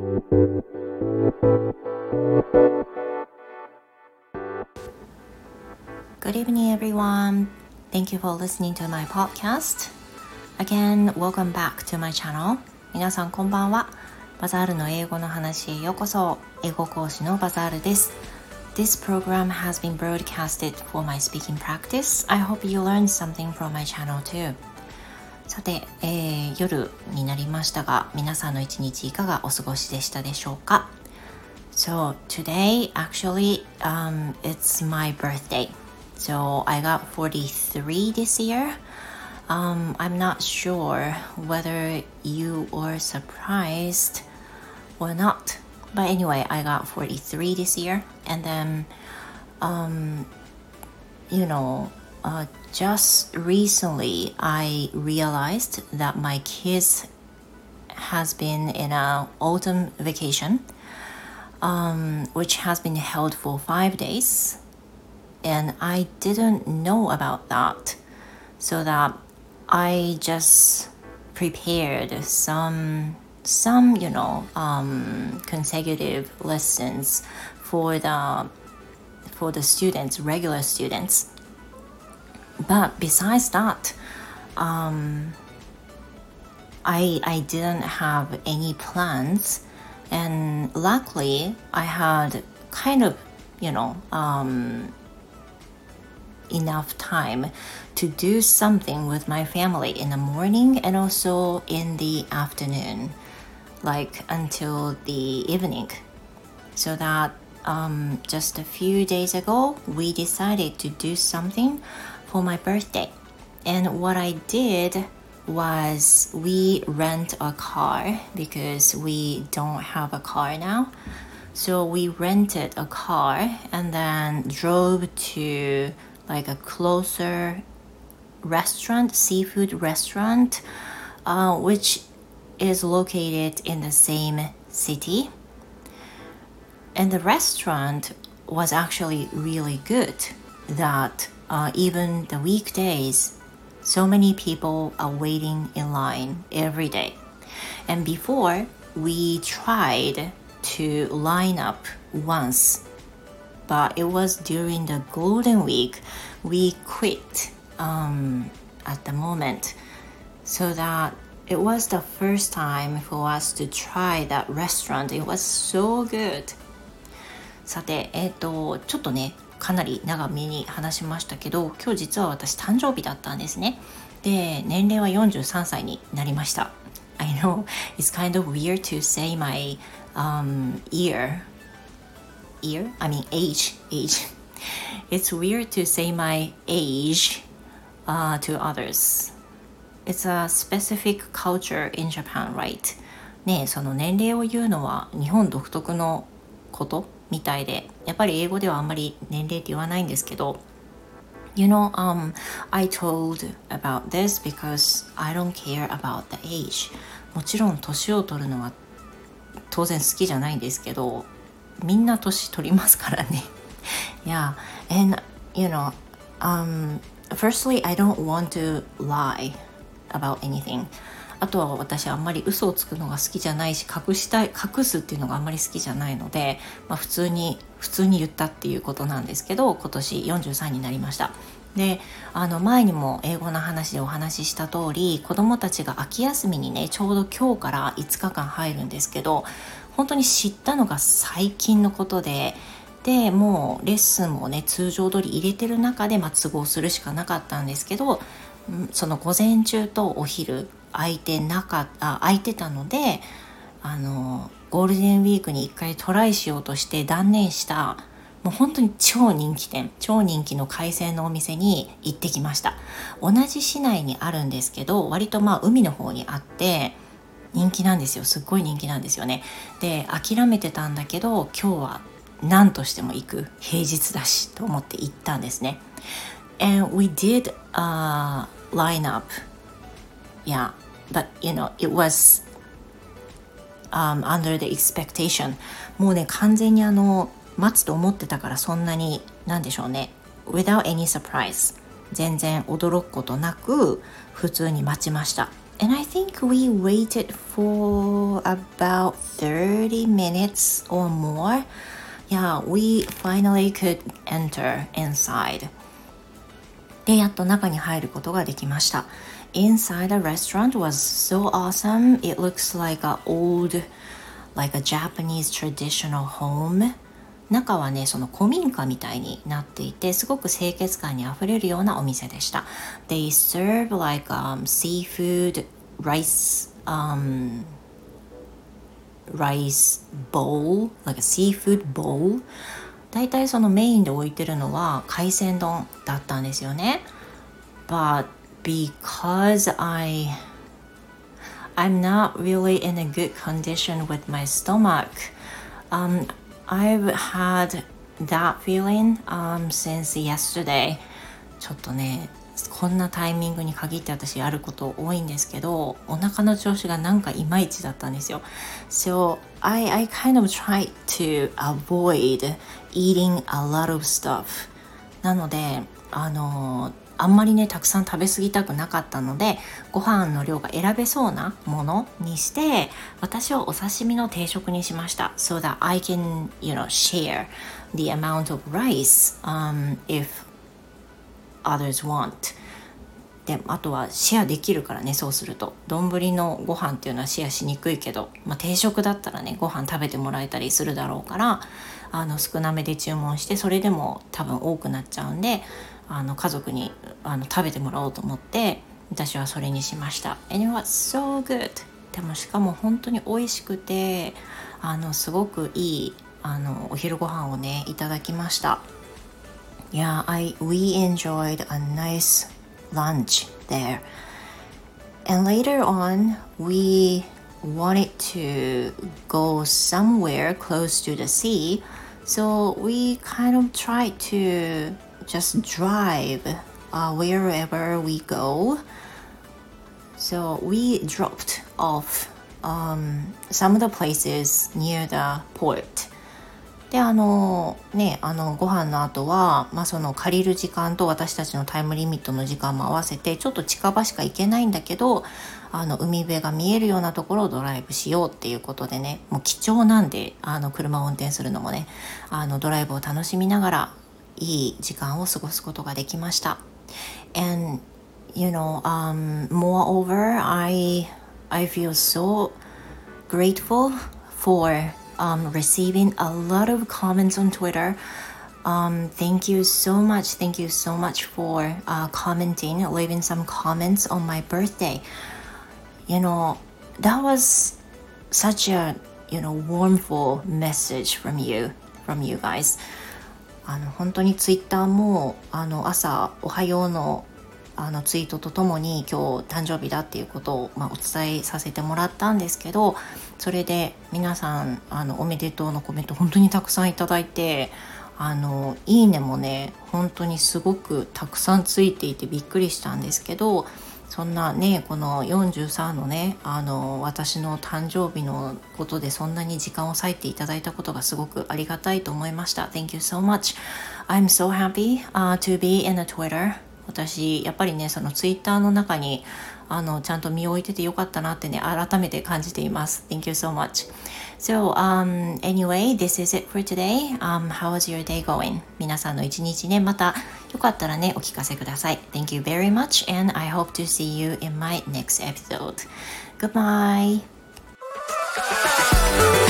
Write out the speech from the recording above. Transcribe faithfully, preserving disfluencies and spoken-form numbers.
Good evening, everyone. Thank you for listening to my podcast. Again, welcome back to my channel. 皆さんこんばんは。バザールの英語の話へようこそ。英語講師のバザールです。This program has been broadcasted for my speaking practice. I hope you learned something from my channel too. さて、えー、夜になりましたが、皆さんの一日いかがお過ごしでしたでしょうか？ So today, actually, um, it's my birthday.So I got forty-three this year. Um, I'm not sure whether you were surprised or not. But anyway, I got forty-three this year. And then, um, you know, uh, just recently I realized that my kids has been in an autumn vacation, um, which has been held for five days.And I didn't know about that, so that I just prepared some, some you know, um, consecutive lessons for the for the students, regular students. But besides that, um, I I didn't have any plans, and luckily I had kind of, you know, um.enough time to do something with my family in the morning and also in the afternoon, like until the evening. So that um, just a few days ago, we decided to do something for my birthday. And what I did was we rent a car because we don't have a car now. So we rented a car and then drove to like a closer restaurant, seafood restaurant, uh, which is located in the same city. And the restaurant was actually really good that uh, even the weekdays, so many people are waiting in line every day. And before, we tried to line up once.But it was during the Golden Week we quit um, at the moment, so that it was the first time for us to try that restaurant. It was so good. さて、えっと、ちょっとね、かなり長めに話しましたけど、今日実は私誕生日だったんですね。で、年齢はよんじゅうさんさいになりました。I know it's kind of weird to say my um, year.Year? I mean age. Age. It's weird to say my age uh, to others. It's a specific culture in Japan, right? ねえ、その年齢を言うのは日本独特のことみたいで、やっぱり英語ではあんまり年齢って言わないんですけど、You know, um, I told about this because I don't care about the age. もちろん年を取るのは当然好きじゃないんですけど、みんな年取りますからね。Yeah, and you know, um, firstly, I don't want to lie about anything. あとは私あんまり嘘をつくのが好きじゃないし、隠したい、隠すっていうのがあんまり好きじゃないので、まあ、普通に普通に言ったっていうことなんですけど、今年よんじゅうさんになりました。で、あの前にも英語の話でお話しした通り、子どもたちが秋休みにね、ちょうど今日からいつかかん入るんですけど、本当に知ったのが最近のことで、でもうレッスンもね通常通り入れてる中で、まあ、都合するしかなかったんですけど、その午前中とお昼空いてなかあ空いてたので、あのゴールデンウィークに一回トライしようとして断念したもう本当に超人気店、超人気の海鮮のお店に行ってきました。同じ市内にあるんですけど、割とまあ海の方にあって人気なんですよ。すっごい人気なんですよね。で、諦めてたんだけど今日は何としても行く、平日だしと思って行ったんですね。And we did a lineup. Yeah, but you know, it was um, under the expectation. もうね、完全にあの待つと思ってたから、そんなになんでしょうね。Without any surprise. 全然驚くことなく普通に待ちました。 And I think we waited for about thirty minutes or more. Yeah, we finally could enter inside. で、やっと中に入ることができました。Inside the restaurant was so awesome. It looks like an old, like a Japanese traditional home. 中はね、その古民家みたいになっていて、すごく清潔感にあふれるようなお店でした。They serve like、um, seafood, rice, um, rice bowl, like a seafood bowl. だいたいそのメインで置いてるのは海鮮丼だったんですよね。But because I, I'm not really in a good condition with my stomach, um, I've had that feeling um, since yesterday. ちょっとね、こんなタイミングに限って私やること多いんですけど、お腹の調子がなんかいまいちだったんですよ。So I, I kind of tried to avoid eating a lot of stuff. なので、あのあんまりねたくさん食べ過ぎたくなかったので、ご飯の量が選べそうなものにして、私はお刺身の定食にしました。So that I can, you know, share the amount of rice、um, if others want. で、あとはシェアできるからね、そうすると丼のご飯っていうのはシェアしにくいけど、まあ、定食だったらねご飯食べてもらえたりするだろうから、あの少なめで注文して、それでも多分多くなっちゃうんで、あの家族にあの食べてもらおうと思って私はそれにしました。 And it was so good. でもしかも本当に美味しくて、あのすごくいいあのお昼ご飯をねいただきました。 Yeah, I, we enjoyed a nice lunch there. And later on we wanted to go somewhere close to the sea, so we kind of tried to just drive uh, wherever we go. So we dropped off um, some of the places near the port. で、あのね、あのご飯の後は、まあ、その借りる時間と私たちのタイムリミットの時間も合わせて、ちょっと近場しか行けないんだけど、あの海辺が見えるようなところをドライブしようっていうことでね、もう貴重なんで、あの車を運転するのもね、あのドライブを楽しみながらいい時間を過ごすことができました。And you know, um, moreover, I I feel so grateful for um, receiving a lot of comments on Twitter. Um, thank you so much. Thank you so much for uh, commenting, leaving some comments on my birthday. You know, that was such a you know warmful message from you, from you guys.あの本当にツイッターもあの朝おはようのあのツイートとともに今日誕生日だっていうことを、まあ、お伝えさせてもらったんですけど、それで皆さんあのおめでとうのコメント本当にたくさんいただいて、あのいいねもね本当にすごくたくさんついていてびっくりしたんですけど、そんなねこのよんじゅうさんのねあの私の誕生日のことでそんなに時間を割いていただいたことがすごくありがたいと思いました。 Thank you so much. I'm so happy、uh, to be in a Twitter. 私やっぱりねそのツイッターの中にあのちゃんと身を置いててよかったなってね改めて感じています。 Thank you so much. So um, anyway, this is it for today. Um, how was your day going? 皆さんの一日ねまたよかったらねお聞かせください。 Thank you very much and I hope to see you in my next episode. Goodbye.